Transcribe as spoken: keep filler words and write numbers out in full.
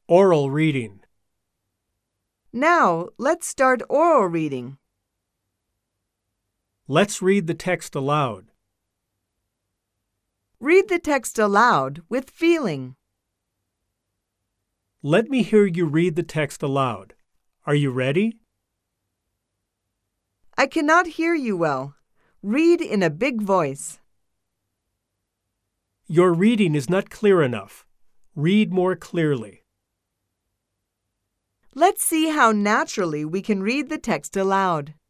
Oral reading. Now, let's start oral reading. Let's read the text aloud. Read the text aloud with feeling. Let me hear you read the text aloud. Are you ready? I cannot hear you well. Read in a big voice. Your reading is not clear enough. Read more clearly. Let's see how naturally we can read the text aloud.